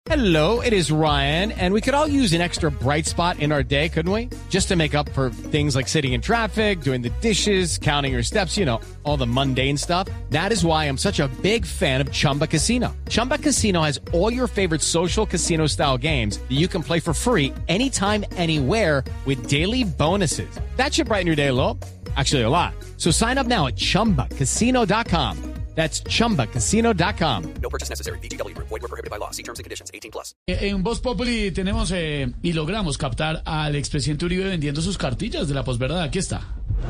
Hello, it is Ryan, and we could all use an extra bright spot in our day, couldn't we? Just to make up for things like sitting in traffic, doing the dishes, counting your steps, you know, all the mundane stuff. That is why I'm such a big fan of Chumba Casino. Chumba Casino has all your favorite social casino-style games that you can play for free anytime, anywhere with daily bonuses. That should brighten your day a little. Actually, a lot. So sign up now at ChumbaCasino.com. That's ChumbaCasino.com. No purchase necessary. VGW Group. Void where prohibited by law. See terms and conditions. 18+. En Voz Populi tenemos y logramos captar al expresidente Uribe vendiendo sus cartillas de la posverdad. Aquí está.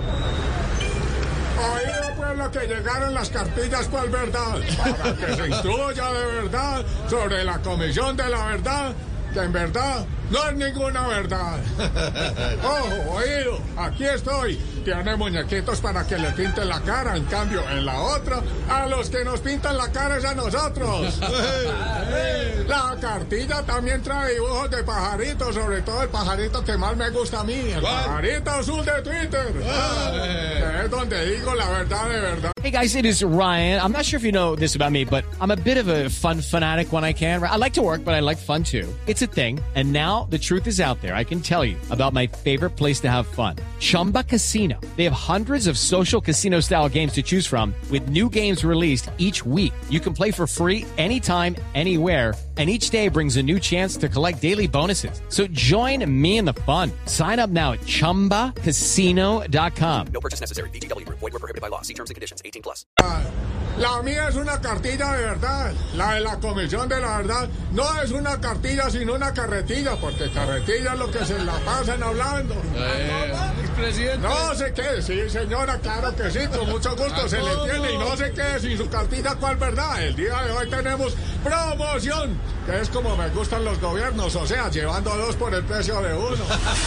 Oído, pueblo, que llegaron las cartillas por verdad, para que se instruya de verdad sobre la comisión de la verdad, que en verdad no es ninguna verdad. Ojo, oído, aquí estoy. Tiene muñequitos para que le pinten la cara, en cambio, en la otra, a los que nos pintan la cara es a nosotros. La cartilla también trae dibujos de pajaritos, sobre todo el pajarito que más me gusta a mí, el pajarito azul de Twitter. Que es donde digo la verdad de verdad. Hey guys, it is Ryan. I'm not sure if you know this about me, but I'm a bit of a fun fanatic when I can. I like to work, but I like fun too. It's a thing. And now the truth is out there. I can tell you about my favorite place to have fun. Chumba Casino. They have hundreds of social casino-style games to choose from with new games released each week. You can play for free anytime, anywhere, and each day brings a new chance to collect daily bonuses. So join me in the fun. Sign up now at ChumbaCasino.com. No purchase necessary. VGW Group. Void where prohibited by law. See terms and conditions. 18+. La mía es una cartilla de verdad. La de la comisión de la verdad no es una cartilla, sino una carretilla, porque carretilla es lo que se la pasan hablando. No sé qué, sí, señora, claro que sí, con mucho gusto se le entiende, y no sé qué, sin su cartilla, ¿cuál verdad? El día de hoy tenemos promoción, que es como me gustan los gobiernos, o sea, llevando dos por el precio de uno.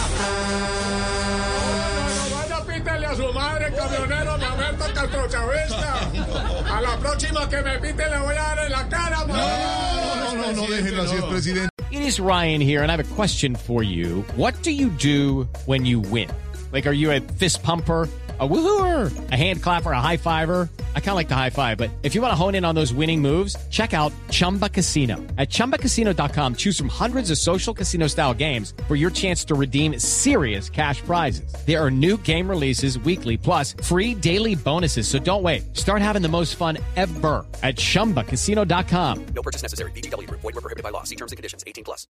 Vaya, pítele a su madre, camionero Mamerto Castrochavista. A la próxima que me pite le voy a dar en la cara, No, déjenlo así, es presidente. It is Ryan here, and I have a question for you. What do you do when you win? Like, are you a fist pumper, a woohooer, a hand clapper, a high fiver? I kind of like the high five, but if you want to hone in on those winning moves, check out Chumba Casino. At ChumbaCasino.com, choose from hundreds of social casino-style games for your chance to redeem serious cash prizes. There are new game releases weekly, plus free daily bonuses, so don't wait. Start having the most fun ever at ChumbaCasino.com. No purchase necessary. VGW Group. Void where prohibited by law. See terms and conditions. 18+.